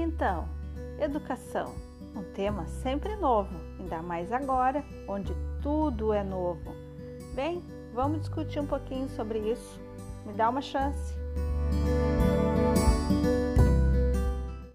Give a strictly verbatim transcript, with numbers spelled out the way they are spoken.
então, educação, um tema sempre novo, ainda mais agora, onde tudo é novo. Bem, vamos discutir um pouquinho sobre isso. Me dá uma chance.